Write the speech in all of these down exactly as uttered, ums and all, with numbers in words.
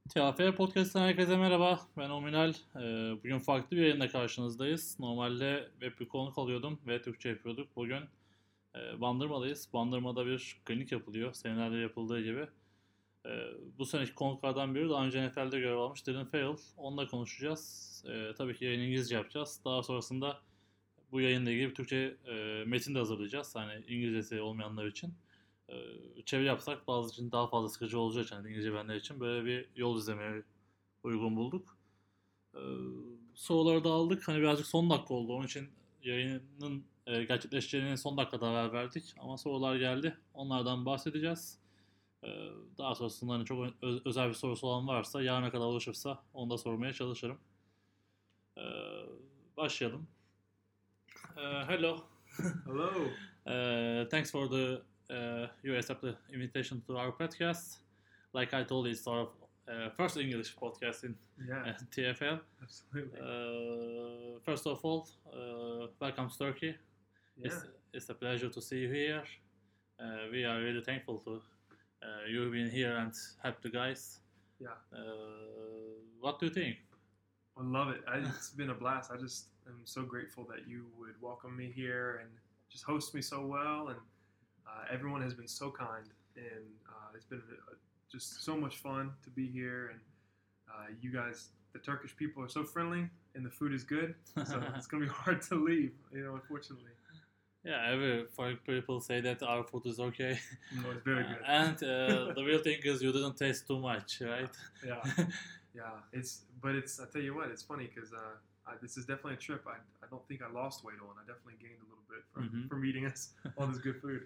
T A F Podcast'ten herkese merhaba. Ben Ominal. Ee, bugün farklı bir yayında karşınızdayız. Normalde web bir konuk alıyordum ve Türkçe yapıyorduk. Bugün e, Bandırma'dayız. Bandırma'da bir klinik yapılıyor. Senelerde yapıldığı gibi. Ee, bu seneki konuklardan biri daha önce N F L'de görev almış Darren Farrell. Onunla konuşacağız. Ee, tabii ki yayını İngilizce yapacağız. Daha sonrasında bu yayınla ilgili bir Türkçe e, metin de hazırlayacağız. Hani İngilizcesi olmayanlar için. E, Çeviri yapsak bazı için daha fazla sıkıcı olacağı için, hani İngilizce bilenler için böyle bir yol izlemeye uygun bulduk. E, Soruları da aldık. Hani birazcık son dakika oldu. Onun için yayının e, gerçekleşeceğinin son dakikada haber verdik. Ama sorular geldi. Onlardan bahsedeceğiz. E, Daha sonrasında hani çok ö- özel bir sorusu olan varsa yarına kadar ulaşırsa onu da sormaya çalışırım. E, Başlayalım. Uh, hello. Hello. Uh, thanks for the uh, you accept the invitation to our podcast. Like I told you, it's our uh, first English podcast in Yeah, uh, T F L. absolutely. Uh, first of all, uh, welcome to Turkey. Yeah, It's it's a pleasure to see you here. Uh, we are really thankful to uh, you being here and help the guys. yeah. Uh, what do you think? I love it. I, it's been a blast. I just am so grateful that you would welcome me here and just host me so well. And uh, everyone has been so kind, and uh, it's been uh just so much fun to be here. And uh, you guys, the Turkish people, are so friendly, and the food is good. So it's gonna be hard to leave, you know, unfortunately. Yeah, every foreign people say that our food is okay. No, it's very Uh, good. and uh, the real thing is you didn't taste too much, right? Yeah, yeah. It's but it's. I tell you what, it's funny because uh, I, this is definitely a trip. I, I don't think I lost weight on. I definitely gained a little bit from, Mhm. from eating us all this good food.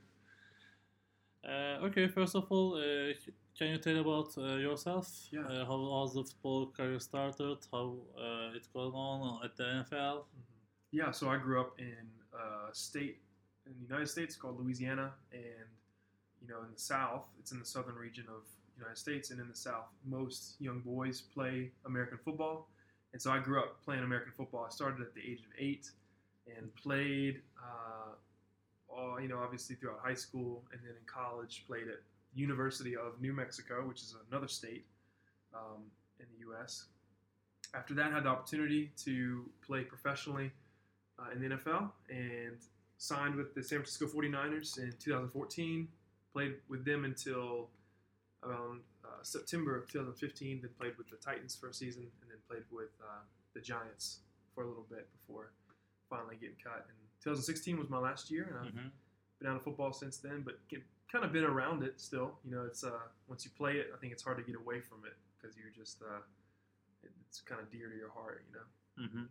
Uh, okay, first of all, uh, can you tell about uh, yourself? Yeah. Uh, how has the football career started? How uh, it's going on at the N F L? Mhm. Yeah, so I grew up in a state in the United States called Louisiana, and you know, in the South, it's in the southern region of the United States, and in the South, most young boys play American football, and so I grew up playing American football. I started at the age of eight, and played, uh, all, you know, obviously throughout high school, and then in college, played at University of New Mexico, which is another state um, in the U S. After that, I had the opportunity to play professionally uh, in the N F L and signed with the San Francisco forty-niners in two thousand fourteen. Played with them until around uh, September of twenty fifteen. Then played with the Titans for a season, and then played with uh, the Giants for a little bit before finally getting cut. And twenty sixteen was my last year, and I've Mhm. been out of football since then. But get, kind of been around it still. You know, it's uh, once you play it, I think it's hard to get away from it because you're just uh, it, it's kind of dear to your heart. You know. Mhm.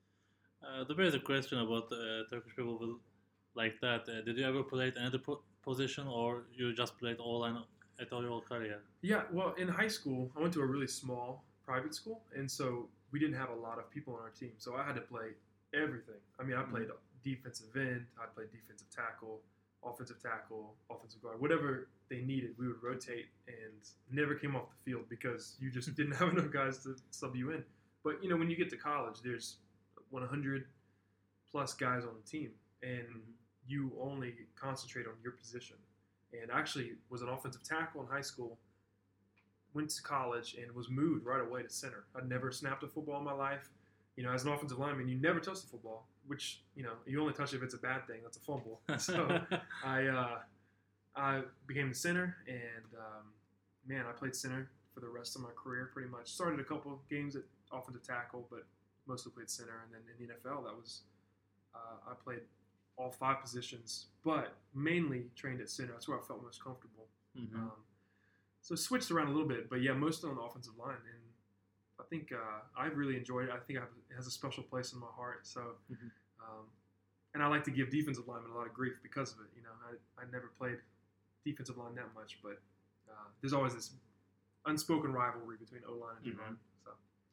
Uh, the basic question about uh, Turkish people will like that. Uh, did you ever play at another po- position, or you just played all line at all your career? Yeah, well, in high school, I went to a really small private school, and so we didn't have a lot of people on our team. So I had to play everything. I mean, I played defensive end, I played defensive tackle, offensive tackle, offensive guard, whatever they needed. We would rotate and never came off the field because you just didn't have enough guys to sub you in. But you know, when you get to college, there's one hundred plus guys on the team, and you only concentrate on your position. And actually was an offensive tackle in high school, went to college, and was moved right away to center. I'd never snapped a football in my life. You know, as an offensive lineman, you never touch the football, which, you know, you only touch it if it's a bad thing. That's a fumble. So I uh, I became the center, and um, man, I played center for the rest of my career pretty much. Started a couple games at offensive tackle, but mostly played center. And then in the N F L, that was uh, I played all five positions, but mainly trained at center. That's where I felt most comfortable. Mhm. Um, so switched around a little bit, but yeah, mostly on the offensive line. And I think uh, I really enjoyed it. I think I have, it has a special place in my heart. So, Mhm. um, and I like to give defensive linemen a lot of grief because of it. You know, I, I never played defensive line that much, but uh, there's always this unspoken rivalry between O line and D line. Mhm. So.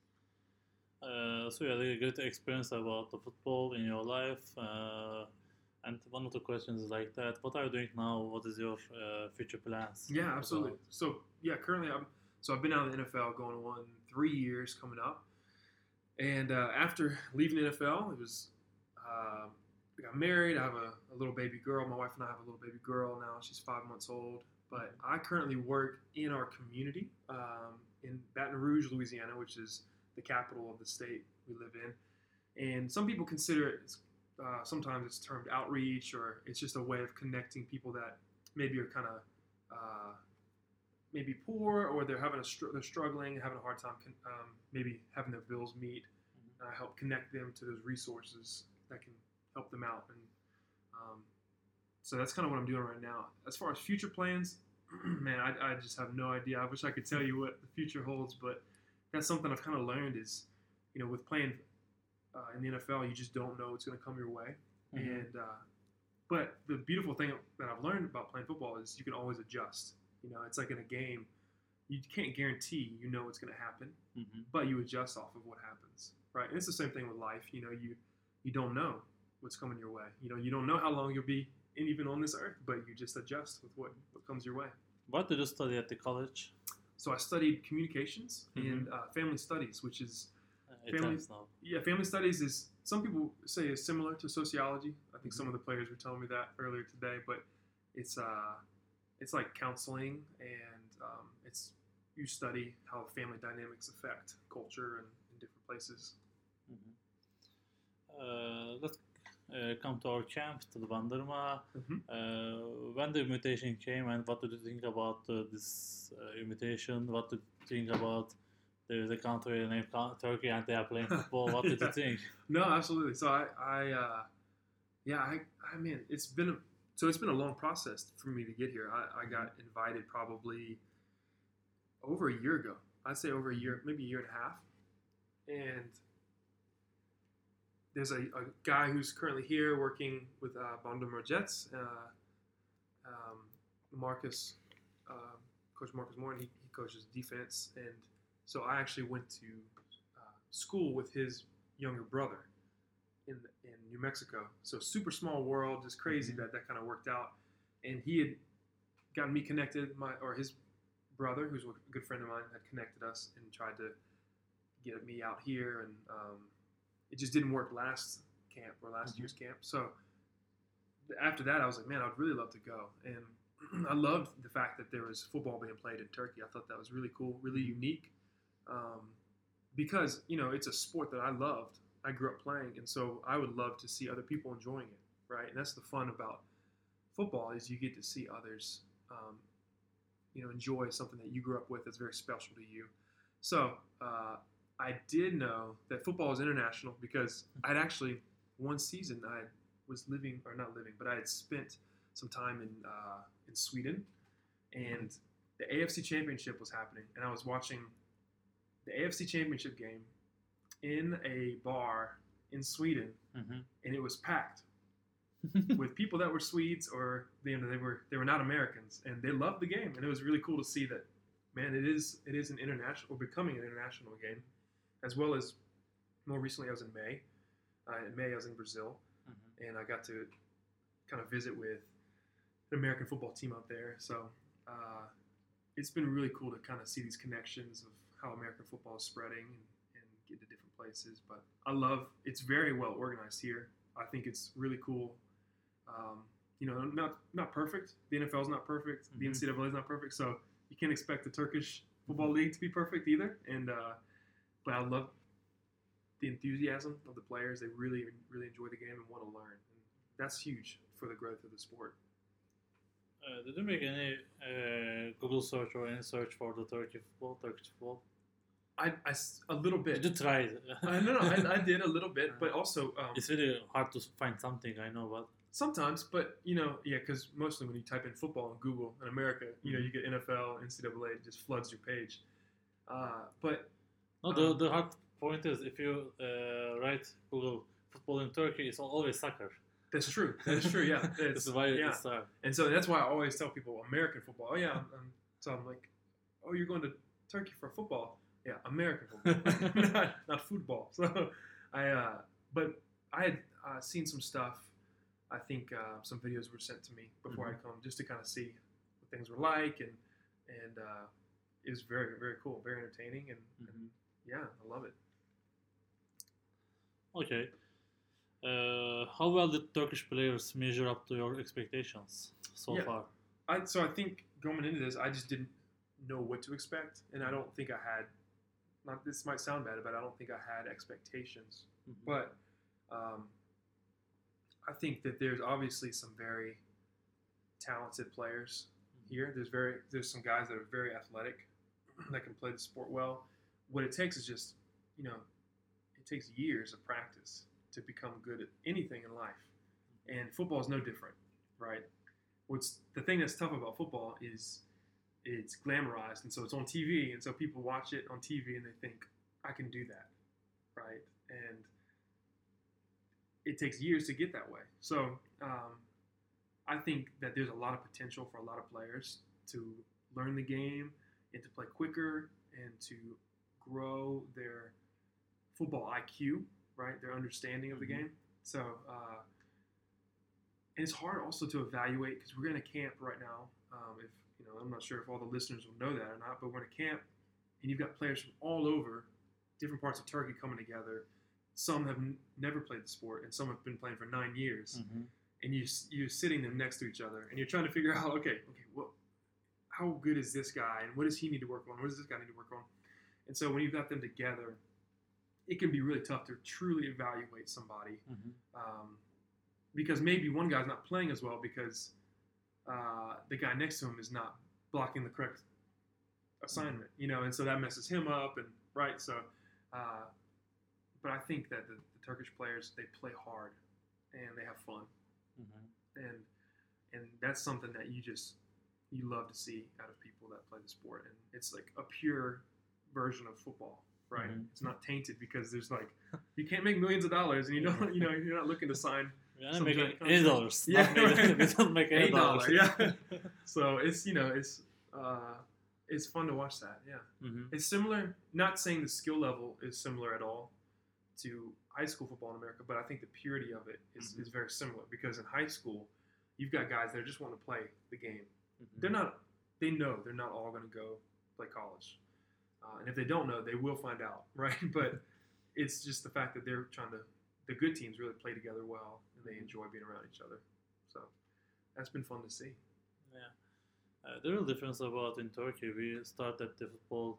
Uh, so you had a good experience about the football in your life. Uh, and one of the questions is like that: what are you doing now? What is your uh, future plans? Yeah, absolutely. about- So yeah, currently I'm so I've been out of the N F L going on three years coming up, and uh, after leaving the N F L, it was uh, I got married. I have a, a little baby girl. My wife and I have a little baby girl now. She's five months old. But I currently work in our community um, in Baton Rouge, Louisiana, which is the capital of the state we live in. And some people consider it, uh, sometimes it's termed outreach, or it's just a way of connecting people that maybe are kind of uh, maybe poor, or they're having a str- they're struggling, having a hard time, con- um, maybe having their bills meet. And I help connect them to those resources that can help them out. And um, so that's kind of what I'm doing right now. As far as future plans, man, I, I just have no idea. I wish I could tell you what the future holds, but that's something I've kind of learned is, you know, with playing uh, in the N F L, you just don't know what's going to come your way. Mhm. And uh, but the beautiful thing that I've learned about playing football is you can always adjust. You know, it's like in a game, you can't guarantee you know what's going to happen, Mhm. but you adjust off of what happens, right? And it's the same thing with life. You know, you you don't know what's coming your way. You know, you don't know how long you'll be in, even on this earth, but you just adjust with what, what comes your way. What did you study at the college? So I studied communications Mhm. and uh, family studies, which is Uh, it Family- ends now. yeah, family studies is some people say is similar to sociology. I think some of the players were telling me that earlier today, but it's uh, it's like counseling, and um, it's you study how family dynamics affect culture and in different places. Mhm. Uh, let's uh, come to our camp, to the Bandırma. Mhm. Uh, when the invitation came, and what did you think about uh, this uh, invitation? What did you think about there is a country named Ca- Turkey and they are playing football? What did Yeah. you think? No, absolutely. So I, I, uh, yeah, I, I mean, it's been a, so it's been a long process for me to get here. I, I got invited probably over a year ago. I'd say over a year, maybe a year and a half. And there's a, a guy who's currently here working with uh, Bandırma Jets, uh, um, Marcus, uh, Coach Marcus Moore, and he, he coaches defense. And so I actually went to uh, school with his younger brother in in New Mexico. So super small world, just crazy Mhm. that that kind of worked out. And he had gotten me connected, my or his brother, who's a good friend of mine, had connected us and tried to get me out here. And um, it just didn't work last camp or last Mhm. year's camp. So after that, I was like, man, I'd really love to go. And I loved the fact that there was football being played in Turkey. I thought that was really cool, really unique. Um, because, you know, it's a sport that I loved. I grew up playing, and so I would love to see other people enjoying it, right? And that's the fun about football is you get to see others, um, you know, enjoy something that you grew up with that's very special to you. So uh, I did know that football is international because I'd actually, one season I was living, or not living, but I had spent some time in uh, in Sweden, and the A F C Championship was happening, and I was watching the A F C Championship game in a bar in Sweden, Mhm. and it was packed with people that were Swedes, or you know, they were they were not Americans, and they loved the game, and it was really cool to see that. Man, it is it is an international, or becoming an international game, as well as more recently I was in May. Uh, in May I was in Brazil, Mhm. and I got to kind of visit with an American football team out there. So uh, it's been really cool to kind of see these connections of how American football is spreading and, and get to different places. But I love it's very well organized here. I think it's really cool. Um, you know, not not perfect. The N F L is not perfect. The Mhm. N C double A is not perfect. So you can't expect the Turkish football league to be perfect either. And uh, but I love the enthusiasm of the players. They really really enjoy the game and want to learn. And that's huge for the growth of the sport. Uh, did you make any uh, Google search or any search for the Turkey football, Turkish football? I, I s- a little bit. Did you try it? I don't know. I, I did a little bit, but also um, It's really hard to find something, I know, but sometimes. But you know, yeah, because mostly when you type in football in Google in America, you know, you get N F L, N C double A, it just floods your page. Uh, but no. The Um, the hard point is if you uh, write Google football in Turkey, it's always soccer. that's true. That is true. Yeah. This It's, is why yeah. it's hard. And so that's why I always tell people American football. Oh yeah. I'm, I'm, so I'm like, oh, you're going to Turkey for football? Yeah, American football, not, not football. So I, uh, but I had uh, seen some stuff. I think uh, some videos were sent to me before Mhm. I'd come, just to kind of see what things were like, and and uh, it was very very cool, very entertaining, and, and Mhm. yeah, I love it. Okay. Uh, how well did Turkish players measure up to your expectations so Yeah. far? I so I think going into this, I just didn't know what to expect, and I don't think I had. Not this might sound bad, but I don't think I had expectations. Mhm. But um, I think that there's obviously some very talented players here. There's very there's some guys that are very athletic that can play the sport well. What it takes is just, you know, it takes years of practice to become good at anything in life. And football is no different, right? What's the thing that's tough about football is it's glamorized, and so it's on T V, and so people watch it on T V and they think, I can do that, right? And it takes years to get that way. So um, I think that there's a lot of potential for a lot of players to learn the game and to play quicker and to grow their football I Q, right? Their understanding of the game. So, uh, and it's hard also to evaluate because we're in a camp right now. Um, if you know, I'm not sure if all the listeners will know that or not, but we're in a camp and you've got players from all over, different parts of Turkey coming together. Some have n- never played the sport, and some have been playing for nine years. Mhm. And you you're sitting them next to each other, and you're trying to figure out, okay, okay, what, how good is this guy, and what does he need to work on? What does this guy need to work on? And so when you've got them together, it can be really tough to truly evaluate somebody, Mhm. um, because maybe one guy's not playing as well because uh, the guy next to him is not blocking the correct assignment, you know, and so that messes him up, and right, so. Uh, but I think that the, the Turkish players, they play hard, and they have fun. Mhm. and and that's something that you just you love to see out of people that play the sport, and it's like a pure version of football, right? Mhm. It's not tainted because there's like you can't make millions of dollars, and you don't you know you're not looking to sign We are some making giant eight contract. dollars. Yeah, Not making, right. we don't make eight Eight dollars. dollar, yeah. So it's you know it's uh, it's fun to watch that. Yeah, Mhm. it's similar. Not saying the skill level is similar at all to high school football in America, but I think the purity of it is, Mhm. is very similar because in high school, you've got guys that just want to play the game. Mhm. They're not, they know they're not all going to go play college. Uh, and if they don't know, they will find out, right? But it's just the fact that they're trying to, the good teams really play together well and they enjoy being around each other. So that's been fun to see. Yeah. Uh, the real difference about in Turkey, we start at the football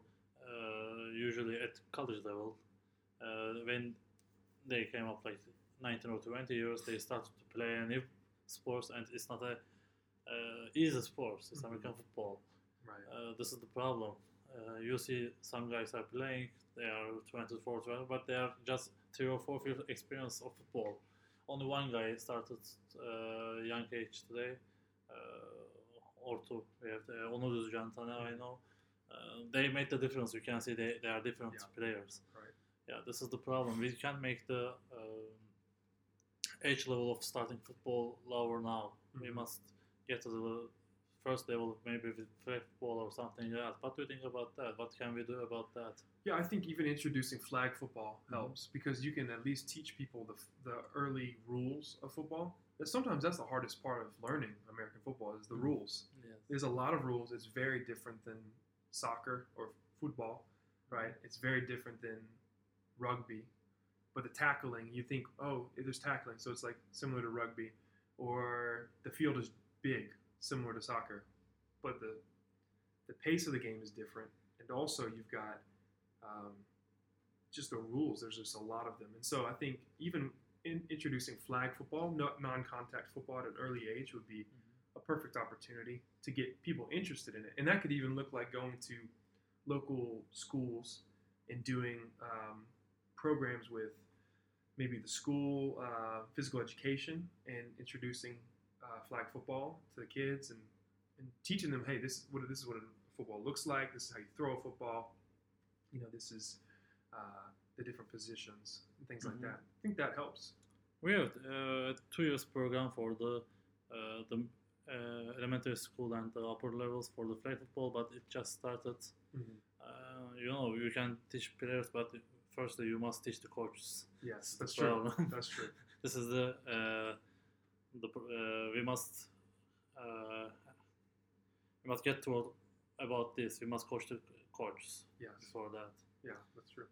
uh, usually at college level. Uh, when they came up like nineteen or twenty years, they started to play a new sports, and it's not a uh, easy sport. It's Mhm. American football. Right. Uh, this is the problem. Uh, you see some guys are playing, they are twenty-four, twenty, but they are just three or four years experience of football. Only one guy started uh, young age today, uh, or two. We have the Onur Düzcan, Tane, I know. Uh, they made the difference. You can see they, they are different Yeah. players. Right. Yeah, this is the problem. We can't make the uh, age level of starting football lower now. We Mhm. must get to the first level, maybe with flag football or something else. What do you think about that? What can we do about that? Yeah, I think even introducing flag football Mhm. helps because you can at least teach people the, the early rules of football. And sometimes that's the hardest part of learning American football is the Mhm. rules. Yes. There's a lot of rules. It's very different than soccer or football, right? It's very different than rugby. But the tackling, you think, oh, there's tackling, so it's like similar to rugby. Or the field is big, similar to soccer. But the the pace of the game is different. And also you've got um, just the rules. There's just a lot of them. And so I think even in introducing flag football, no, non-contact football at an early age would be a perfect opportunity to get people interested in it. And that could even look like going to local schools and doing um, programs with maybe the school uh, physical education and introducing uh, flag football to the kids and, and teaching them, hey, this is what this is what a football looks like. This is how you throw a football. You know, this is uh, the different positions and things Mhm. like that. I think that helps. We have uh, two years program for the uh, the uh, elementary school and the upper levels for the flag football, but it just started. Mm-hmm. Uh, you know, you can teach players, but firstly you must teach the coaches. Yes, that's the true. problem. That's true. This is the uh, the uh, we must uh, we must get to about this. We must coach the coaches Yes. before that. Yeah, that's true.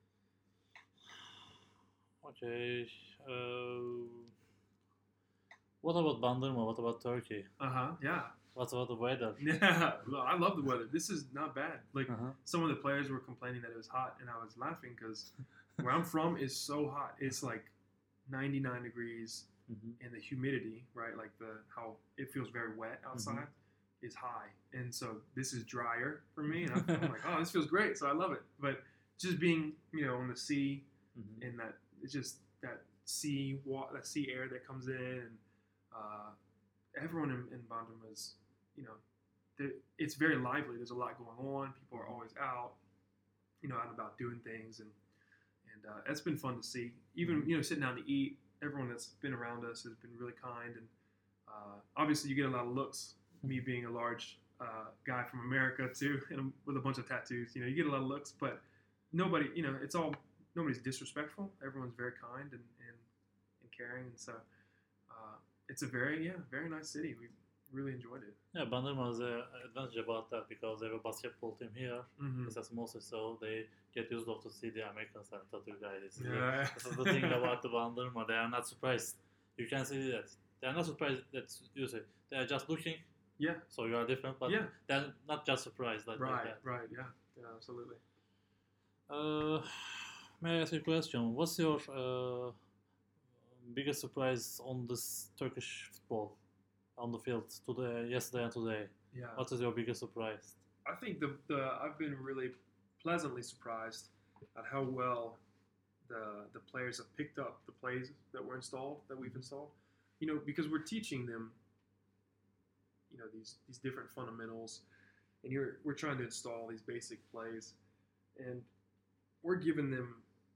Okay. Uh, what about Bandırma? What about Turkey? Uh huh. Yeah. What about the weather? Yeah, well, I love the weather. This is not bad. Like Uh-huh. some of the players were complaining that it was hot, and I was laughing because where I'm from is so hot. It's like ninety-nine degrees, Mhm. and the humidity, right? Like the how it feels very wet outside, is high, and so this is drier for me. And I'm, I'm like, oh, this feels great, so I love it. But just being, you know, on the sea Mhm. and that it's just that sea wa- that sea air that comes in, and uh, everyone in, in Bandung is, you know, there- it's very lively. There's a lot going on. People are always out, you know, out and about doing things, and and uh, it's been fun to see. Even, you know, sitting down to eat, everyone that's been around us has been really kind, and uh, obviously you get a lot of looks. Me being a large uh, guy from America too, and with a bunch of tattoos, you know, you get a lot of looks, but nobody, you know, it's all nobody's disrespectful. Everyone's very kind and and, and caring, and so uh, it's a very yeah very nice city. We really enjoyed it. Yeah, Bandırma has an advantage about that because they have a basketball team here. Mm-hmm. It's as mostly so they get used to see the Americans and tattoo guys. This is, the, Yeah. this is the thing about the Bandırma. They are not surprised. You can see that. They are not surprised that you say. They are just looking. Yeah. So you are different, but Yeah. they're not just surprised like, like Right. that. Right. Yeah. Yeah. Absolutely. Uh, may I ask you a question? What's your uh, biggest surprise on this Turkish football on the field today, yesterday and today? Yeah. What is your biggest surprise? I think the the I've been really pleasantly surprised at how well the the players have picked up the plays that were installed that we've installed. You know, because we're teaching them, you know, these these different fundamentals, and you're we're trying to install these basic plays, and we're giving them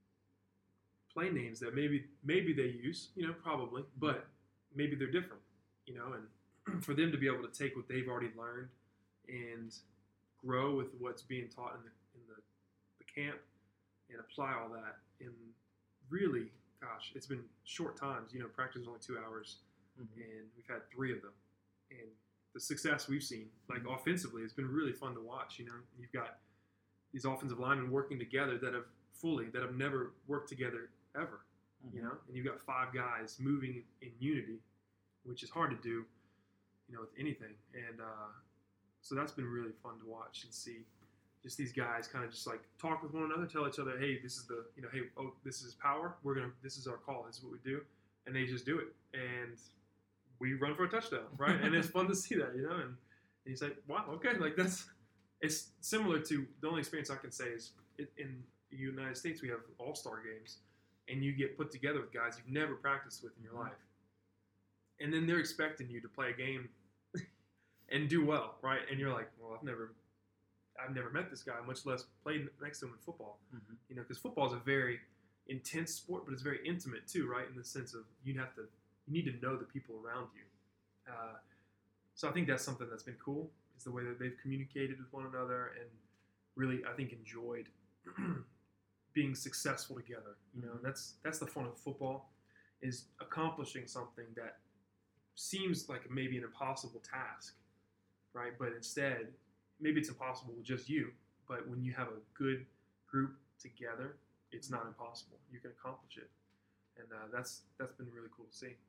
play names that maybe maybe they use, you know, probably, but maybe they're different, you know, and for them to be able to take what they've already learned and grow with what's being taught in the in the, the camp and apply all that in really, gosh, it's been short times. You know, practice is only two hours, Mhm. and we've had three of them, and the success we've seen, like Mhm. offensively, it's been really fun to watch. You know, you've got these offensive linemen working together that have fully that have never worked together ever. You know, and you've got five guys moving in unity, which is hard to do, you know, with anything. And uh, so that's been really fun to watch and see just these guys kind of just like talk with one another, tell each other, hey, this is the, you know, hey, oh, this is power. We're going to, this is our call. This is what we do. And they just do it. And we run for a touchdown, right? And it's fun to see that, you know, and, and you say, wow, okay, like that's, it's similar to, the only experience I can say is it, in the United States, we have all-star games, and you get put together with guys you've never practiced with in your life. And then they're expecting you to play a game and do well, right? And you're like, well, I've never, I've never met this guy, much less played next to him in football. Mhm. You know, because football is a very intense sport, but it's very intimate too, right? In the sense of you have to, you need to know the people around you. Uh, so I think that's something that's been cool, is the way that they've communicated with one another and really, I think, enjoyed being successful together. You know, and that's that's the fun of football, is accomplishing something that seems like maybe an impossible task, right? But instead, maybe it's impossible with just you, but when you have a good group together, it's not impossible. You can accomplish it, and uh, that's that's been really cool to see.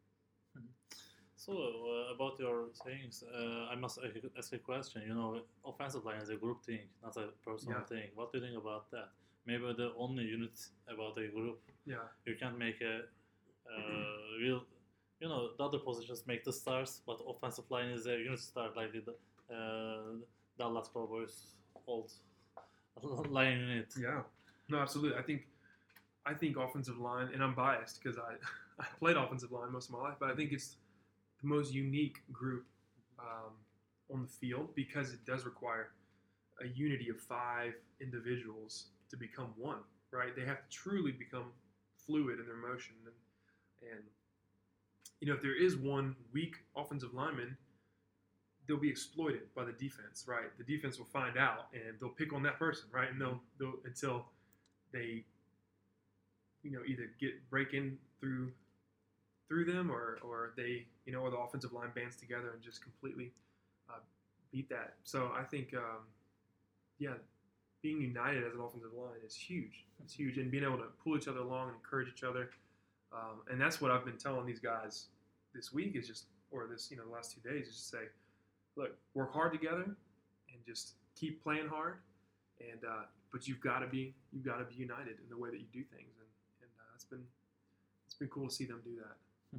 So uh, about your sayings, uh, I must ask a question. You know, offensive line is a group thing, not a personal Yeah. thing. What do you think about that? Maybe the only unit about a group. Yeah, You can't make a uh, real. You know, the other positions make the stars, but offensive line is a unit star, like the uh, Dallas Cowboys old line unit. yeah, no, absolutely. I think I think offensive line, and I'm biased because I I played offensive line most of my life, but I think it's the most unique group um, on the field because it does require a unity of five individuals to become one, right? They have to truly become fluid in their motion. And, and you know, if there is one weak offensive lineman, they'll be exploited by the defense, right? The defense will find out and they'll pick on that person, right? And they'll, they'll until they, you know, either get break in through through them or or they, you know, or the offensive line bands together and just completely uh, beat that. So I think, um, yeah, being united as an offensive line is huge. It's huge, and being able to pull each other along and encourage each other. Um, and that's what I've been telling these guys this week is just, or this, you know, the last two days is just say, look, work hard together and just keep playing hard. And uh, but you've got to be you've got to be united in the way that you do things, and and uh, it's been it's been cool to see them do that.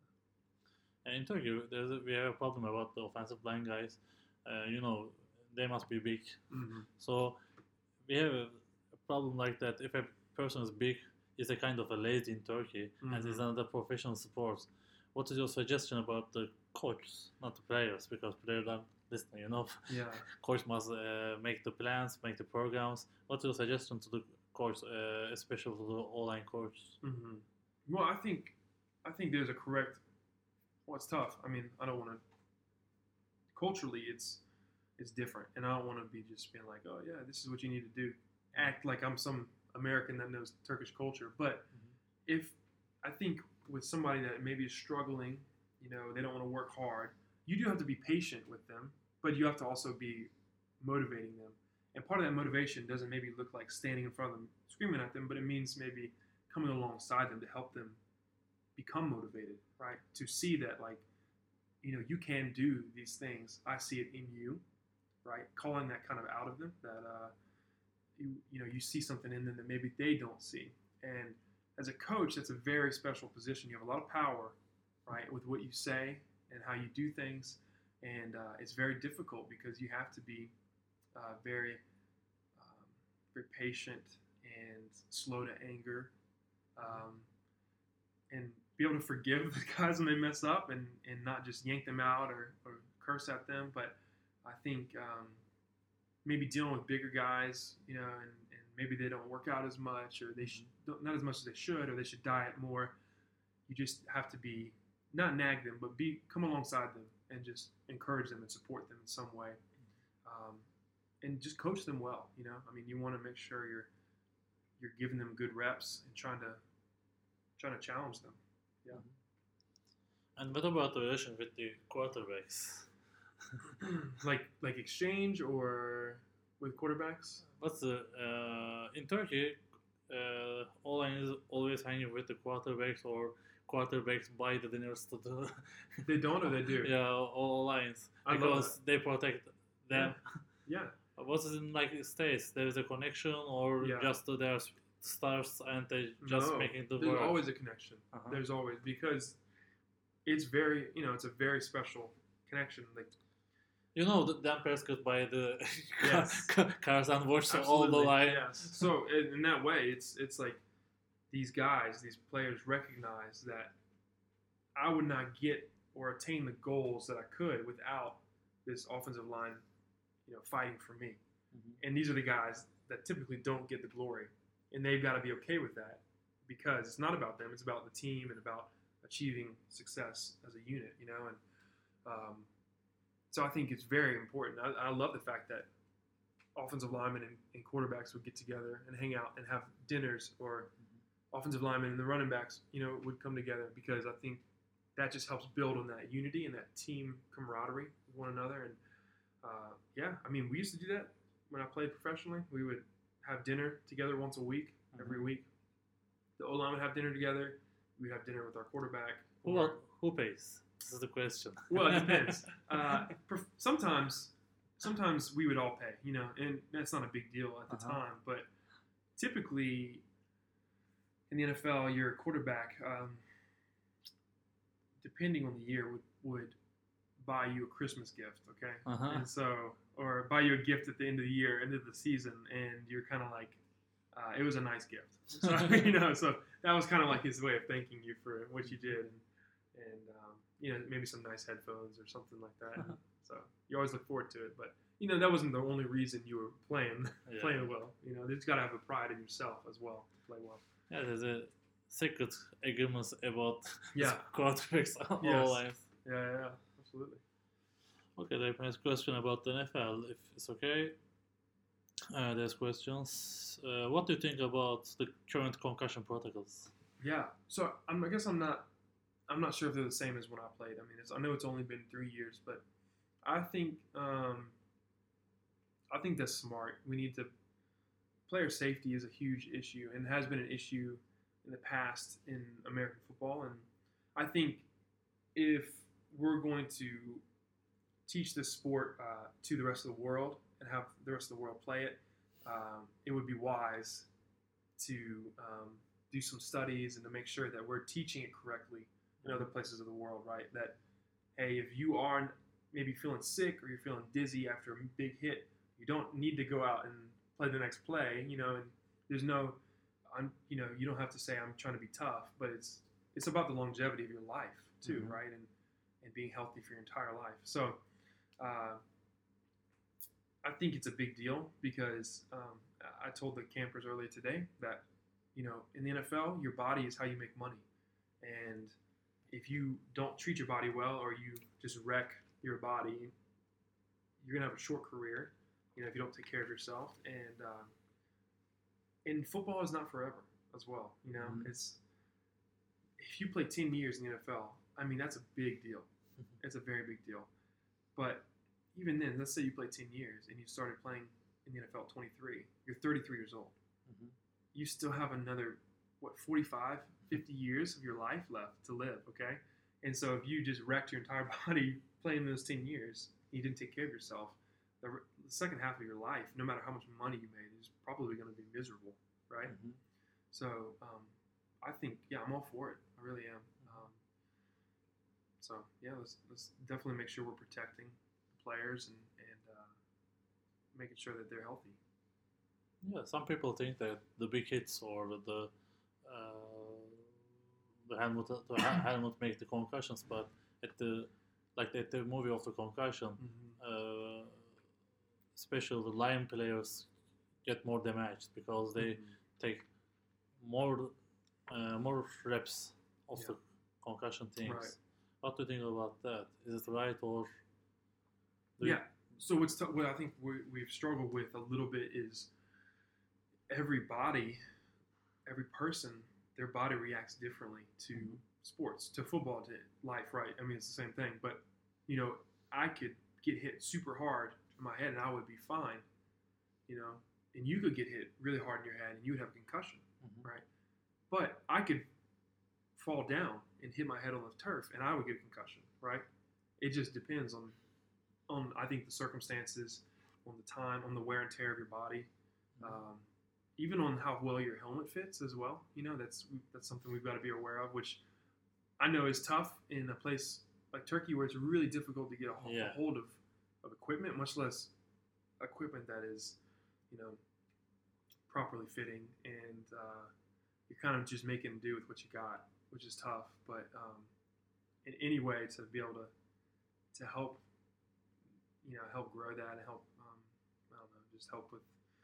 And in Turkey, there's a, we have a problem about the offensive line guys. Uh, you know, they must be big. Mm-hmm. So we have a, a problem like that. If a person is big, it's a kind of a lazy in Turkey, mm-hmm. and it's another professional sport. What is your suggestion about the coaches, not the players, because players are listening, you know? Yeah. Coach must uh, make the plans, make the programs. What's your suggestion to the coach, uh, especially to the O-line coach? Mm-hmm. Well, I think I think there's a correct. Well, it's tough. I mean, I don't want to. Culturally, it's it's different, and I don't want to be just being like, oh yeah, this is what you need to do. Act like I'm some American that knows Turkish culture. But mm-hmm. if I think with somebody that maybe is struggling, you know, they don't want to work hard, you do have to be patient with them, but you have to also be motivating them. And part of that motivation doesn't maybe look like standing in front of them screaming at them, but it means maybe coming alongside them to help them become motivated, right? To see that, like, you know, you can do these things. I see it in you, right? Calling that kind of out of them, that, uh, you, you know, you see something in them that maybe they don't see. And as a coach, that's a very special position. You have a lot of power, right, with what you say and how you do things. And uh, it's very difficult because you have to be uh, very, um, very patient and slow to anger, um, and be able to forgive the guys when they mess up, and, and not just yank them out or, or curse at them. But I think um, maybe dealing with bigger guys, you know, and, and maybe they don't work out as much, or they should, not as much as they should, or they should diet more. You just have to be, not nag them, but be come alongside them and just encourage them and support them in some way, um, and just coach them well. You know, I mean, you want to make sure you're you're giving them good reps and trying to trying to challenge them. Yeah. And what about the relation with the quarterbacks? like like exchange or with quarterbacks? What's the uh, in Turkey? Uh, O-line is always hanging with the quarterbacks, or quarterbacks buy the dinners to the. They don't, or they do. Yeah, all lines I love because they protect them. Yeah. What's it in like states? There is a connection, or Yeah. just uh, there's stars and they just No, making the there's work. always a connection. Uh-huh. There's always, because it's very, you know, it's a very special connection. Like, You know, the Dan Prescott by the Yes. cars and watch all the absolutely, line. yes. So in, in that way, it's it's like these guys, these players recognize that I would not get or attain the goals that I could without this offensive line, you know, fighting for me. Mhm. And these are the guys that typically don't get the glory, and they've got to be okay with that, because it's not about them; it's about the team and about achieving success as a unit, you know. And um, so I think it's very important. I, I love the fact that offensive linemen and, and quarterbacks would get together and hang out and have dinners, or mm-hmm. offensive linemen and the running backs, you know, would come together, because I think that just helps build on that unity and that team camaraderie with one another. And uh, yeah, I mean, we used to do that when I played professionally. We would have dinner together once a week, Mm-hmm. every week. The O-line would have dinner together. We'd have dinner with our quarterback. Who, or- who pays? This is the question. Well, it depends. uh, prof- sometimes, sometimes we would all pay, you know, and that's not a big deal at the Uh-huh. time. But typically, in the N F L, your quarterback, um, depending on the year, would, would buy you a Christmas gift, okay? Uh-huh. And so, or buy you a gift at the end of the year, end of the season, and you're kind of like, uh, it was a nice gift. So, you know, so that was kind of like his way of thanking you for what you did, and, and um, you know, maybe some nice headphones or something like that. Uh-huh. So you always look forward to it, but you know, that wasn't the only reason you were playing Yeah. playing well. You know, you just got to have a pride in yourself as well to play well. Yeah, there's a secret agreements about Yeah. quarterbacks all Yes. lines. Yeah, yeah, yeah, absolutely. Okay, there's a question about the N F L, if it's okay. Uh, there's questions. Uh, what do you think about the current concussion protocols? Yeah. So I'm, I guess I'm not I'm not sure if they're the same as when I played. I mean, it's, I know it's only been three years, but I think um, I think that's smart. We need to player safety is a huge issue and has been an issue in the past in American football. And I think if we're going to teach this sport uh, to the rest of the world and have the rest of the world play it, um, it would be wise to um, do some studies and to make sure that we're teaching it correctly in other places of the world, right? That, hey, if you are maybe feeling sick or you're feeling dizzy after a big hit, you don't need to go out and play the next play, you know, and there's no, I'm, you know, you don't have to say I'm trying to be tough, but it's it's about the longevity of your life too, Mhm. right? And and being healthy for your entire life. So uh, I think it's a big deal because um, I told the campers earlier today that, you know, in the N F L, your body is how you make money. And if you don't treat your body well or you just wreck your body, you're going to have a short career, you know, if you don't take care of yourself. And, um, and football is not forever as well. You know, Mhm. it's, if you play ten years in the N F L, I mean, that's a big deal. It's a very big deal. But even then, let's say you play ten years and you started playing in the N F L at twenty-three, you're thirty-three years old. Mhm. You still have another, what, forty-five, fifty years of your life left to live, okay? And so if you just wrecked your entire body playing those ten years, you didn't take care of yourself, the, the second half of your life, no matter how much money you made, is probably going to be miserable, right? Mhm. So um, I think, yeah, I'm all for it. I really am. Um, so, yeah, let's, let's definitely make sure we're protecting the players and, and uh, making sure that they're healthy. Yeah, some people think that the big hits or the uh, the helmet the ha- helmet make the concussions, but at the like at the movie of the concussion, uh, especially the line players get more damaged because they Mhm. take more uh, more reps of Yeah. the concussion things. Right. What do you think about that? Is it right or do Yeah. So what's t- what I think we, we've struggled with a little bit is every body, every person, their body reacts differently to Mhm. sports, to football, to life, right? I mean, it's the same thing. But, you know, I could get hit super hard in my head and I would be fine, you know, and you could get hit really hard in your head and you would have a concussion, Mhm. right? But I could fall down and hit my head on the turf and I would get a concussion, right? It just depends on, on I think, the circumstances, on the time, on the wear and tear of your body. Um, even on how well your helmet fits as well. You know, that's that's something we've got to be aware of, which I know is tough in a place like Turkey where it's really difficult to get a, Yeah. a hold of, of equipment, much less equipment that is, you know, properly fitting. And uh, you're kind of just making do with what you got, which is tough. But um, in any way to be able to to help, you know, help grow that and help, um, I don't know, just help with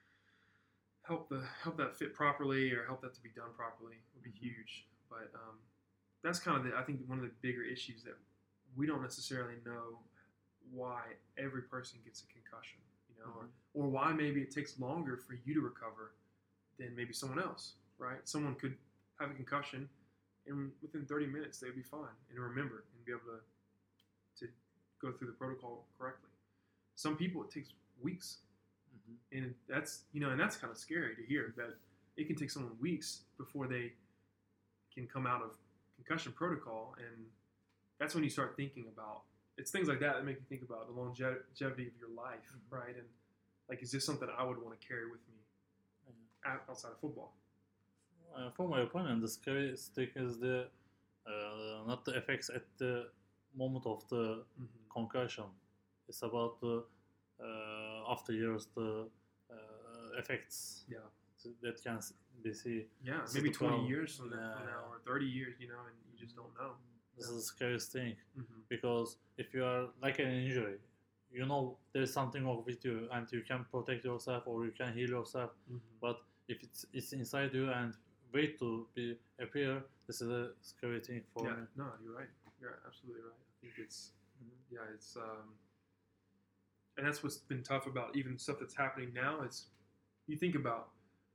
help the help that fit properly or help that to be done properly would be Mhm. huge. But um, that's kind of the I think one of the bigger issues that we don't necessarily know why every person gets a concussion, you know, Mhm. or or why maybe it takes longer for you to recover than maybe someone else, right? Someone could have a concussion and within thirty minutes they'd be fine and remember and be able to to go through the protocol correctly. Some people it takes weeks. Mhm. And that's you know, and that's kind of scary to hear that it can take someone weeks before they can come out of concussion protocol, and that's when you start thinking about it's things like that that make you think about the longevity of your life, Mhm. right? And like, is this something I would want to carry with me Yeah. out- outside of football? Uh, from my opinion, the scariest thing is the uh, not the effects at the moment of the Mm-hmm. concussion. It's about the uh, after years the uh, effects Yeah, that can be seen. yeah, This is maybe the twenty problem. years from, that, from Yeah. now or thirty years, you know, and you just don't know. This Yeah. is the scariest thing Mm-hmm. because if you are like an injury, you know there's something wrong with you and you can protect yourself or you can heal yourself. Mm-hmm. But if it's it's inside you and wait to be appear, this is a scary thing for Yeah, me. no, you're right. You're absolutely right. I think it's Mhm. yeah, it's um, and that's what's been tough about even stuff that's happening now. Is you think about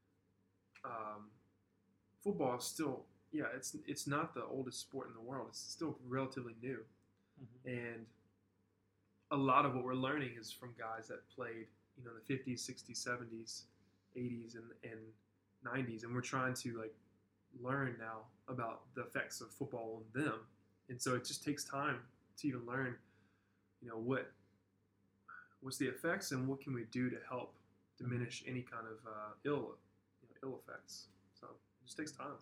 um, football is still yeah, it's it's not the oldest sport in the world. It's still relatively new, Mhm. and a lot of what we're learning is from guys that played you know in the fifties, sixties, seventies, eighties, and and nineties, and we're trying to like learn now about the effects of football on them, and so it just takes time to even learn, you know, what what's the effects and what can we do to help diminish any kind of uh, ill, you know, ill effects. So it just takes time.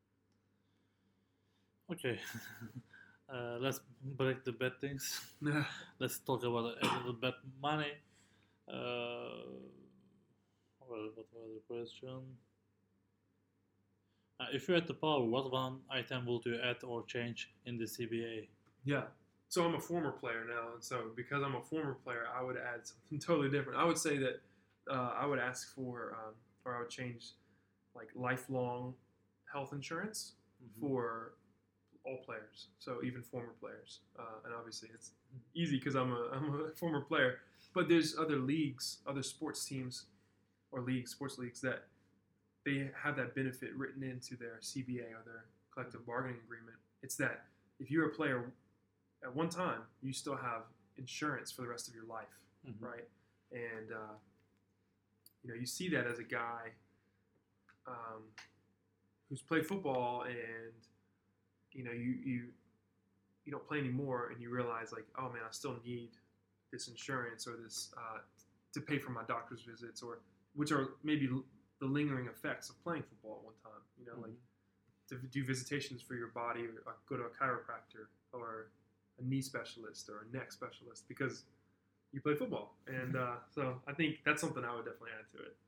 Okay. uh, let's break the bad things. Let's talk about a little bit money. Uh, well, what was the question? Uh, if you had the power, what one item would you add or change in the C B A? Yeah. So I'm a former player now, and so because I'm a former player, I would add something totally different. I would say that uh, I would ask for, um, or I would change, like lifelong health insurance Mhm. for all players. So even former players, uh, and obviously it's easy because I'm a I'm a former player. But there's other leagues, other sports teams, or leagues, sports leagues that they have that benefit written into their C B A or their collective bargaining agreement. It's that if you're a player at one time, you still have insurance for the rest of your life, Mhm. right? And uh, you know, you see that as a guy um, who's played football, and you know, you you you don't play anymore, and you realize like, oh man, I still need this insurance or this uh, to pay for my doctor's visits, or which are maybe the lingering effects of playing football at one time. You know, Mhm. like to do visitations for your body, or go to a chiropractor, or a knee specialist, or a neck specialist, because you play football. And uh, so I think that's something I would definitely add to it.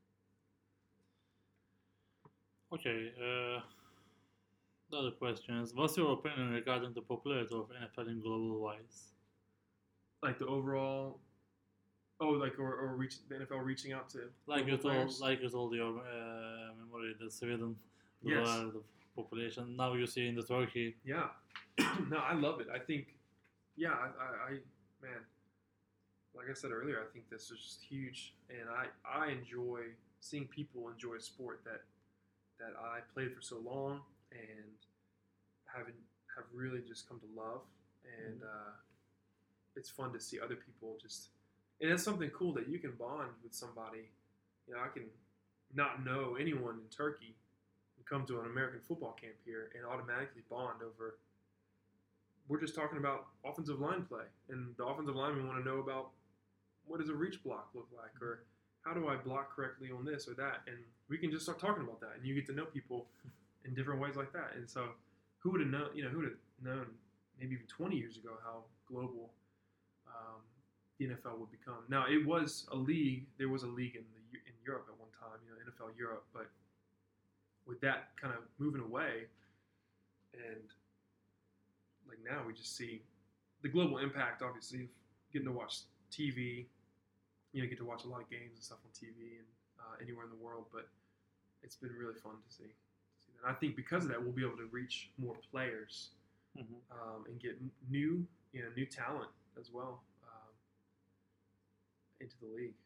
Okay. Uh, the other question is, what's your opinion regarding the popularity of N F L in global wise? Like the overall, oh, like or, or reach the N F L reaching out to Like global you told, players. like you told your uh, memory, the Sweden, the Yes. lower the population. Now you see in the Turkey. Yeah, no, I love it. I think, yeah, I, I, I, man, like I said earlier, I think this is just huge, and I, I enjoy seeing people enjoy a sport that, that I played for so long and haven't have really just come to love, and uh, it's fun to see other people just, and it's something cool that you can bond with somebody. You know, I can not know anyone in Turkey and come to an American football camp here and automatically bond over. We're just talking about offensive line play, and the offensive linemen want to know about what does a reach block look like, or how do I block correctly on this or that, and we can just start talking about that, and you get to know people in different ways like that. And so, who would have known? You know, who would have known maybe even twenty years ago how global um, the N F L would become? Now, it was a league. There was a league in the in Europe at one time, you know, N F L Europe, but with that kind of moving away, and like now we just see the global impact, obviously, of getting to watch T V. You know, get to watch a lot of games and stuff on T V and uh, anywhere in the world, but it's been really fun to see. To see that. And I think because of that, we'll be able to reach more players Mhm. um, and get new, you know, new talent as well um, into the league.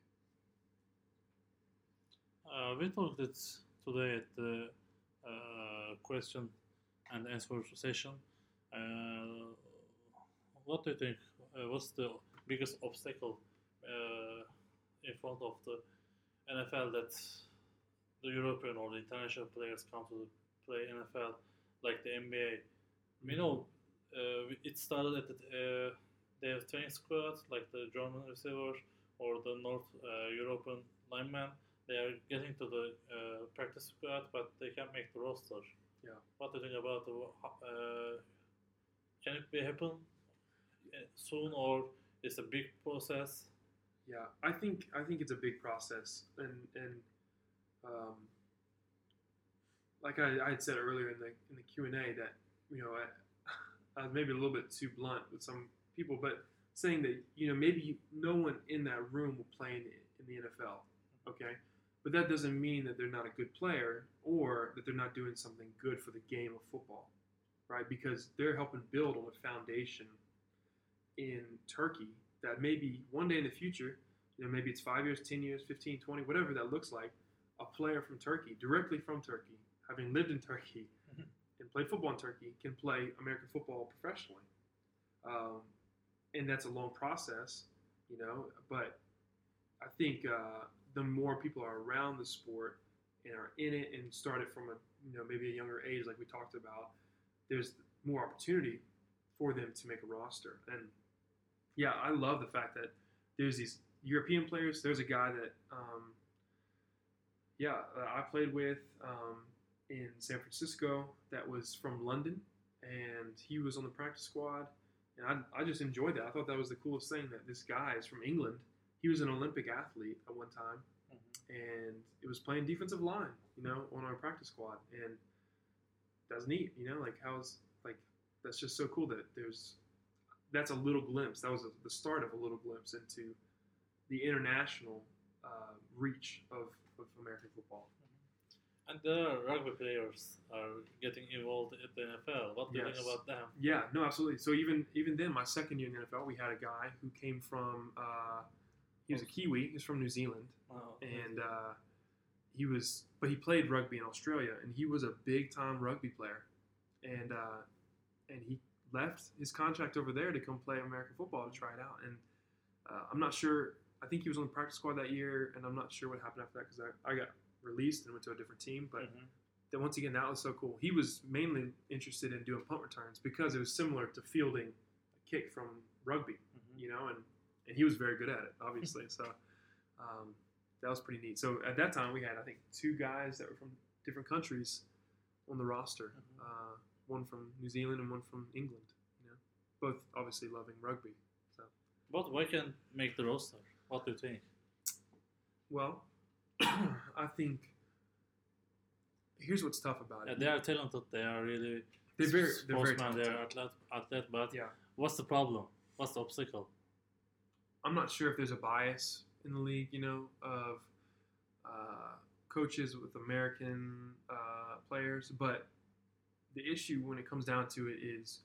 Uh, we talked it today at the uh, question and answer session. Uh, what do you think? Uh, what's the biggest obstacle uh, in front of the N F L that the European or the international players come to play N F L like the N B A? We know uh, it started at the, uh, they have training squad like the German receiver or the North uh, European lineman. They are getting to the uh, practice squad, but they can't make the roster. Yeah. What do you think about the? Uh, can it be happen soon, or it's a big process? Yeah, I think I think it's a big process, and and um, like I, I had said earlier in the in the Q and A that you know I, I was maybe a little bit too blunt with some people, but saying that you know maybe no one in that room will play in, in the N F L, okay, but that doesn't mean that they're not a good player or that they're not doing something good for the game of football, right? Because they're helping build on a foundation in Turkey that maybe one day in the future, you know, maybe it's five years, ten years, fifteen, twenty, whatever that looks like, a player from Turkey, directly from Turkey, having lived in Turkey Mhm. and played football in Turkey, can play American football professionally. Um, and that's a long process, you know, but I think uh, the more people are around the sport and are in it and start it from a, you know, maybe a younger age, like we talked about, there's more opportunity for them to make a roster. And yeah, I love the fact that there's these European players, there's a guy that, um, yeah, uh, I played with um, in San Francisco that was from London, and he was on the practice squad, and I, I just enjoyed that. I thought that was the coolest thing that this guy is from England. He was an Olympic athlete at one time, Mhm. and it was playing defensive line, you know, on our practice squad, and that's neat, you know, like how's like that's just so cool that there's that's a little glimpse. That was a, the start of a little glimpse into the international uh, reach of, of American football. And the rugby players are getting involved in the N F L. What do you Yes. think about them? Yeah, no, absolutely. So even even then, my second year in the N F L, we had a guy who came from uh, he was a Kiwi. He's from New Zealand, Oh, and uh, he was, but he played rugby in Australia, and he was a big time rugby player, and uh, and he left his contract over there to come play American football to try it out. And uh, I'm not sure. I think he was on the practice squad that year, and I'm not sure what happened after that because I, I got released and went to a different team. But Mhm. then once again, that was so cool. He was mainly interested in doing punt returns because it was similar to fielding a kick from rugby, Mhm. you know, and, and he was very good at it, obviously. so um, that was pretty neat. So at that time, we had, I think, two guys that were from different countries on the roster. Mhm. Uh, one from New Zealand and one from England, you know, both obviously loving rugby. So, But why can't make the roster? What do you think? well, I think here's what's tough about Yeah, it. they are talented. They are really They're very, they're very sportsmen. They talented. are athlete, athlete. But Yeah. what's the problem? What's the obstacle? I'm not sure if there's a bias in the league, you know, of uh, coaches with American uh, players, but the issue when it comes down to it is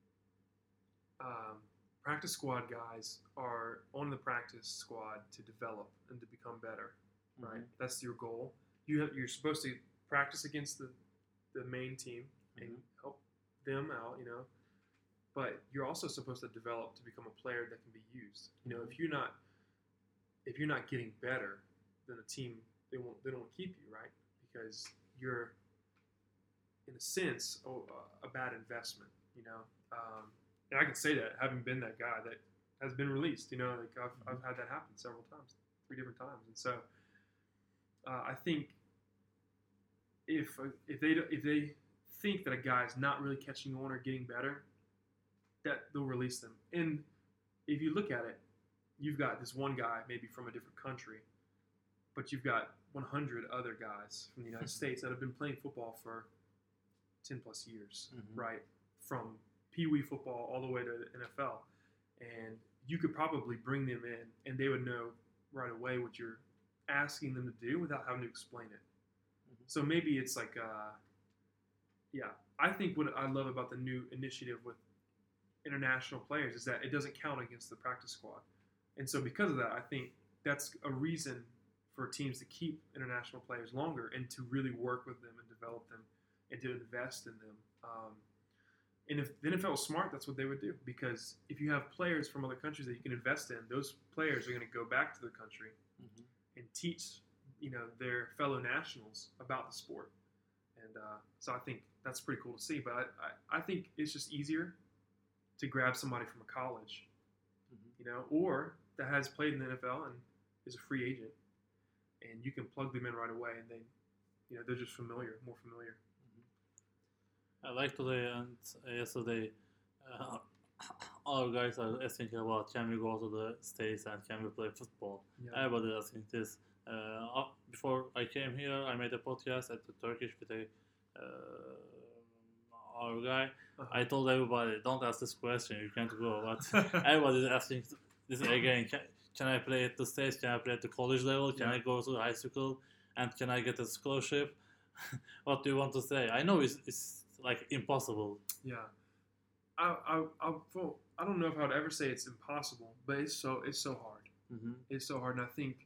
um, practice squad guys are on the practice squad to develop and to become better, right? Mhm. That's your goal. You have, you're supposed to practice against the, the main team and Mhm. help them out, you know. But you're also supposed to develop to become a player that can be used. You know, if you're not if you're not getting better, then a team they won't they don't keep you, right? Because you're in a sense a, a bad investment. You know, um, and I can say that having been that guy that has been released. You know, like I've I've had that happen several times, three different times, and so uh, I think if if they if they think that a guy is not really catching on or getting better, that they'll release them. And if you look at it, you've got this one guy maybe from a different country, but you've got one hundred other guys from the United States that have been playing football for ten plus years, Mhm. right? From Pee Wee football all the way to the N F L. And you could probably bring them in and they would know right away what you're asking them to do without having to explain it. Mhm. So maybe it's like, uh, yeah, I think what I love about the new initiative with international players is that it doesn't count against the practice squad. And so because of that, I think that's a reason for teams to keep international players longer and to really work with them and develop them and to invest in them. Um, and if the N F L was smart, that's what they would do. Because if you have players from other countries that you can invest in, those players are going to go back to their country Mhm. and teach, you know, their fellow nationals about the sport. And uh, so I think that's pretty cool to see. But I, I, I think it's just easier to grab somebody from a college, Mhm. you know, or that has played in the N F L and is a free agent, and you can plug them in right away, and they, you know, they're just familiar, more familiar. I like today and yesterday, uh, our guys are asking about can we go to the States and can we play football? Yeah. Everybody is asking this. Uh, uh, before I came here, I made a podcast at the Turkish with a uh, our guy. Uh-huh. I told everybody, don't ask this question, you can't go. But everybody is asking this again. Can, can I play at the States? Can I play at the college level? Can Yeah. I go to high school? And can I get a scholarship? What do you want to say? I know it's, it's like impossible. Yeah, I I I, well, I don't know if I would ever say it's impossible, but it's so it's so hard. Mm-hmm. It's so hard, and I think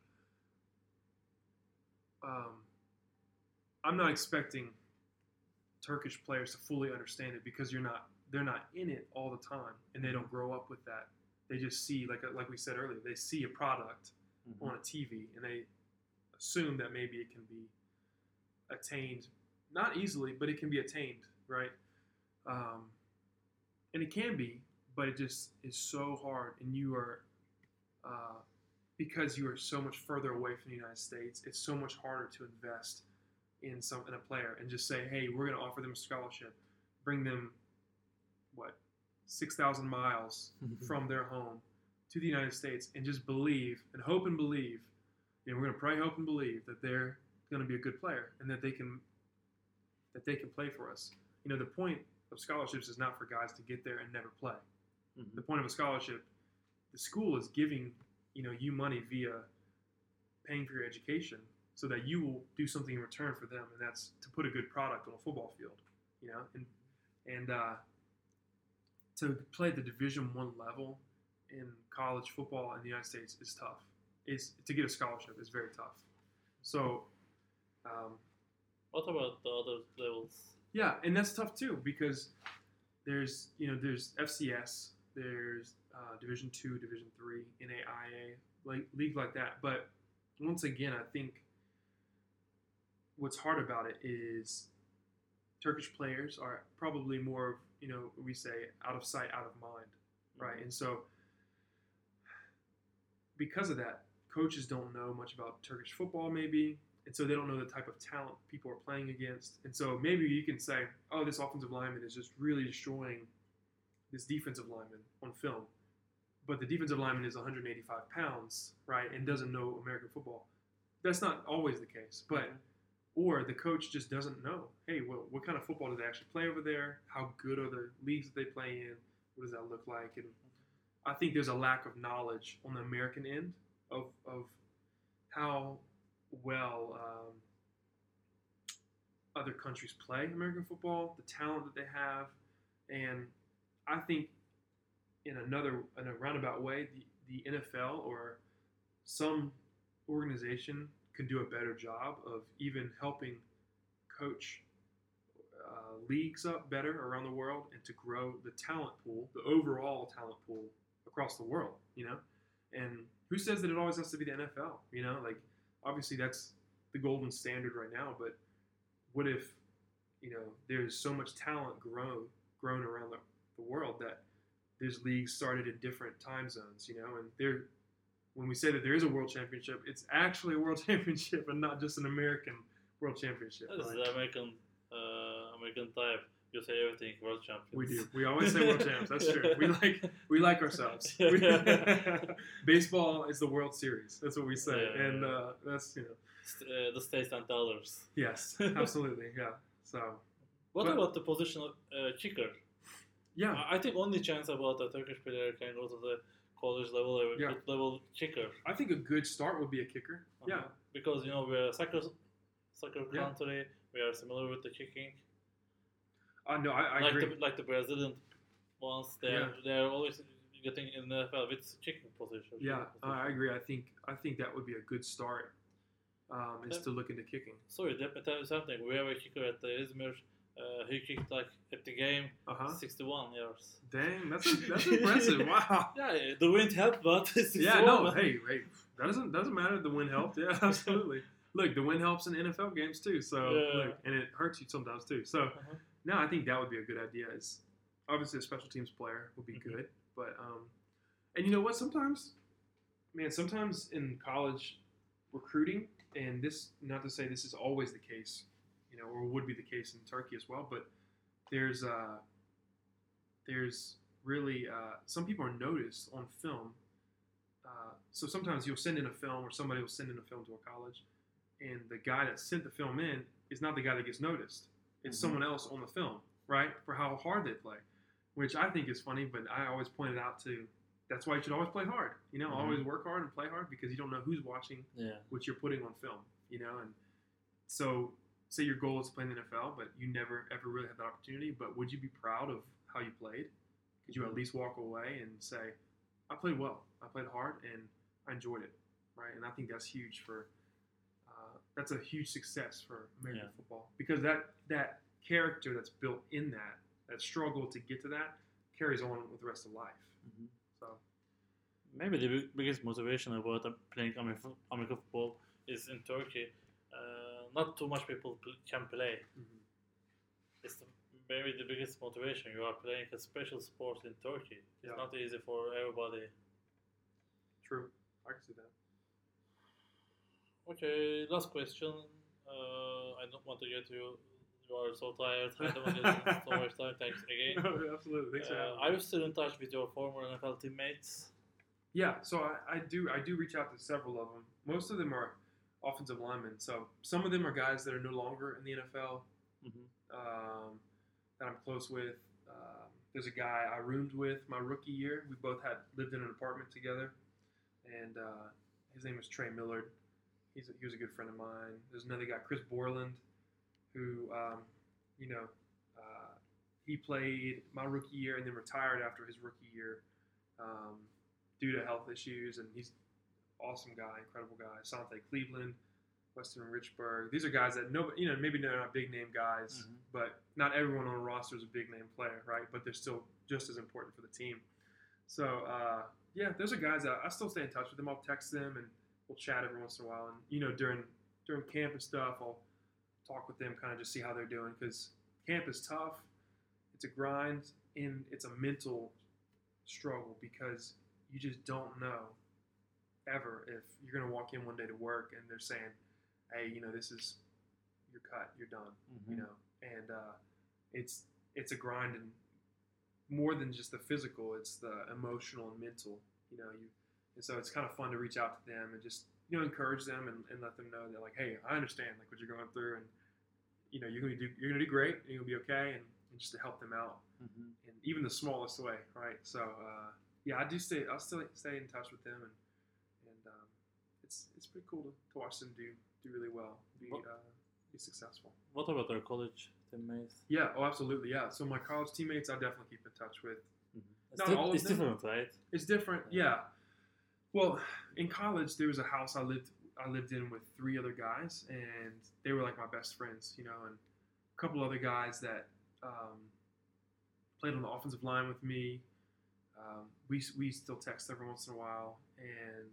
um, I'm not expecting Turkish players to fully understand it because you're not they're not in it all the time, and they don't grow up with that. They just see like like we said earlier, they see a product Mm-hmm. on a T V, and they assume that maybe it can be attained, not easily, but it can be attained, right? Um, and it can be, but it just is so hard, and you are, uh, because you are so much further away from the United States, it's so much harder to invest in some in a player and just say, hey, we're going to offer them a scholarship, bring them what six thousand miles from their home to the United States, and just believe and hope and believe. You know, we're going to pray, hope, and believe that they're going to be a good player and that they can that they can play for us. You know, the point of scholarships is not for guys to get there and never play. Mm-hmm. The point of a scholarship, the school is giving, you know, you money via paying for your education so that you will do something in return for them, and that's to put a good product on a football field, you know, and and uh, to play at the Division One level in college football in the United States is tough. Is to get a scholarship is very tough. So, um, what about the other levels? yeah, and that's tough too because there's you know there's F C S, there's uh, Division Two, Division Three, N A I A, like league like that. But once again, I think what's hard about it is Turkish players are probably more, you know, we say out of sight, out of mind, right? Mm-hmm. And so because of that, coaches don't know much about Turkish football, maybe. And so they don't know the type of talent people are playing against. And so maybe you can say, oh, this offensive lineman is just really destroying this defensive lineman on film. But the defensive lineman is one hundred eighty-five pounds, right, and doesn't know American football. That's not always the case. But or the coach just doesn't know, hey, well, what kind of football do they actually play over there? How good are the leagues that they play in? What does that look like? And I think there's a lack of knowledge on the American end of, of how well um, other countries play American football, the talent that they have. And I think in another, in a roundabout way, the, the N F L or some organization can do a better job of even helping coach uh, leagues up better around the world and to grow the talent pool, the overall talent pool across the world, you know? And who says that it always has to be the N F L, you know? Like, obviously that's the golden standard right now, but what if, you know, there's so much talent grown grown around the, the world that there's leagues started in different time zones, you know, and they're, when we say that there is a world championship, it's actually a world championship and not just an American world championship. That is right? the American, uh, American type. You say everything world champions. We do. We always say world champs. That's true. We like we like ourselves. We, baseball is the World Series. That's what we say, Yeah, and yeah. uh, that's you know. St- uh, the states and the others. Yes, absolutely. Yeah. So. What But- about the position of uh, kicker? Yeah. I I think only chance about a Turkish player can go to the college level or Yeah. good level kicker. I think a good start would be a kicker. Uh-huh. Yeah. Because you know we're a soccer soccer Yeah. country. We are similar with the kicking. Uh, no, I, I like agree. the like the Brazilian ones, they Yeah. are they are always getting in the N F L with kicking position. Yeah, kicking I position. agree. I think I think that would be a good start. Um, is Yeah. to look into kicking. Sorry, let me tell you something. We have a kicker at the Izmir. Uh, he kicked like at the game Uh huh. sixty-one yards. Dang, that's that's impressive. Wow. Yeah, the wind helped, but sixty-one. Yeah, no, hey, hey, that doesn't doesn't matter. The wind helped. Yeah, absolutely. Look, the wind helps in N F L games too. So, Yeah. look, and it hurts you sometimes too. So, Uh-huh. no, I think that would be a good idea. Is obviously a special teams player would be Mhm. good, but um, and you know what? Sometimes, man, sometimes in college recruiting, and this not to say this is always the case, you know, or would be the case in Turkey as well, but there's uh, there's really uh, some people are noticed on film. Uh, so sometimes you'll send in a film, or somebody will send in a film to a college, and the guy that sent the film in is not the guy that gets noticed. It's Mhm. someone else on the film, right? For how hard they play, which I think is funny. But I always point it out to. That's why you should always play hard. You know, Mhm. always work hard and play hard because you don't know who's watching Yeah. what you're putting on film. You know, and so say your goal is to play in the N F L, but you never ever really had that opportunity. But would you be proud of how you played? Could you at least walk away and say, I played well, I played hard, and I enjoyed it, right? And I think that's huge for, uh, that's a huge success for American Yeah. football because that that character that's built in that, that struggle to get to that, carries on with the rest of life. Mhm. So, Maybe the big- biggest motivation about uh, playing American American football is in Turkey. Uh, not too much people pl- can play. mhm. It's the, maybe the biggest motivation. You are playing a special sport in Turkey. It's Yeah. not easy for everybody. True, I can see that. Okay, last question. Uh, I don't want to get you. You are so tired. I don't want to get so much time. Thanks again. No, absolutely. Thanks for Uh, having me. are you still in touch with your former N F L teammates? Yeah, so I, I do I do reach out to several of them. Most of them are offensive linemen. So some of them are guys that are no longer in the N F L Mm-hmm. um, that I'm close with. Um, there's a guy I roomed with my rookie year. We both had lived in an apartment together, and uh, his name was Trey Millard. He's a, he was a good friend of mine. There's another guy, Chris Borland, who um, you know uh, he played my rookie year and then retired after his rookie year um, due to health issues, and he's an awesome guy, incredible guy. Sante Cleveland, Weston Richburg. These are guys that no, you know, maybe they're not big name guys, Mhm. but not everyone on a roster is a big name player, right? But they're still just as important for the team. So uh, yeah, those are guys that I still stay in touch with them. I'll text them and we'll chat every once in a while. And you know, during during camp and stuff, I'll talk with them, kind of just see how they're doing, because camp is tough. It's a grind and it's a mental struggle because you just don't know ever if you're going to walk in one day to work and they're saying, hey, you know, this is, you're cut, you're done, Mm-hmm. you know, and uh, it's it's a grind, and more than just the physical, it's the emotional and mental, you know, you, and so it's kind of fun to reach out to them and just, you know, encourage them and, and let them know that, like, hey, I understand, like, what you're going through, and, you know, you're going to do, you're going to do great, and you're going to be okay, and, and just to help them out Mm-hmm. in even the smallest way, right? So, uh, yeah, I do stay, I'll still stay in touch with them, and, and um, it's it's pretty cool to, to watch them do do really well, be What- uh, be successful. What about our college teammates? Yeah, oh, absolutely, yeah. So my college teammates, I definitely keep in touch with. Mm-hmm. It's, Not di- all of it's them. different, right? It's different, Yeah. yeah. Well, in college, there was a house I lived I lived in with three other guys, and they were like my best friends, you know, and a couple other guys that um, played on the offensive line with me. Um, we we still text every once in a while, and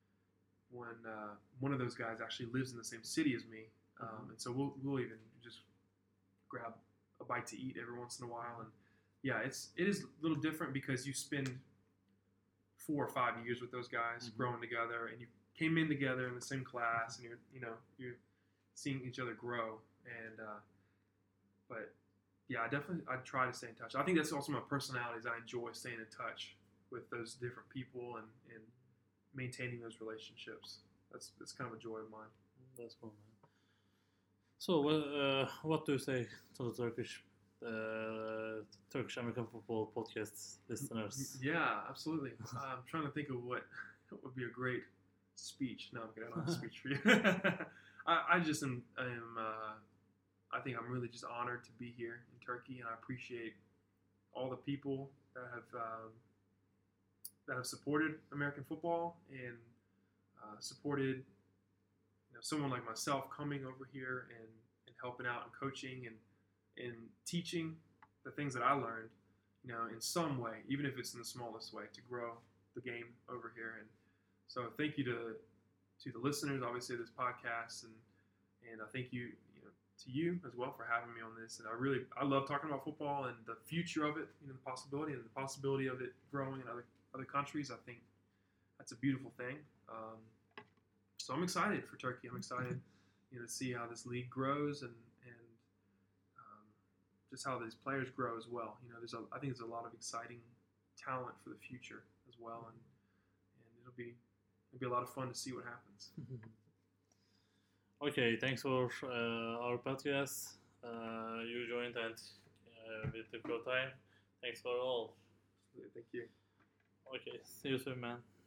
when uh, one of those guys actually lives in the same city as me, um, Mhm. and so we'll we'll even just grab a bite to eat every once in a while, and yeah, it's it is a little different because you spend four or five years with those guys Mhm. growing together, and you came in together in the same class, and you're you know you're seeing each other grow, and uh, but yeah, I definitely I try to stay in touch. I think that's also my personality, is I enjoy staying in touch with those different people and, and maintaining those relationships. That's that's kind of a joy of mine. That's cool, man. So, uh, what do you say to the Turkish, uh, Turkish American football podcast listeners? Yeah, absolutely. I'm trying to think of what, what would be a great speech. No, I'm kidding. I don't have a speech for you. I, I just am, am uh, I think I'm really just honored to be here in Turkey, and I appreciate all the people that have um, that have supported American football and uh, supported you know, someone like myself coming over here and, and helping out and coaching and and teaching the things that I learned, you know, in some way, even if it's in the smallest way, to grow the game over here. And so, thank you to to the listeners, obviously, of this podcast, and and I thank you, you know, to you as well for having me on this. And I really, I love talking about football and the future of it, you know, the possibility and the possibility of it growing in other other countries. I think that's a beautiful thing. Um, so I'm excited for Turkey. I'm excited, you know, to see how this league grows and and um, just how these players grow as well. You know, there's a, I think there's a lot of exciting talent for the future as well, and and it'll be it'll be a lot of fun to see what happens. Okay, thanks for uh, our podcast. Uh, you joined and uh, we took your time. Thanks for all. Thank you. Okay, see you soon, man.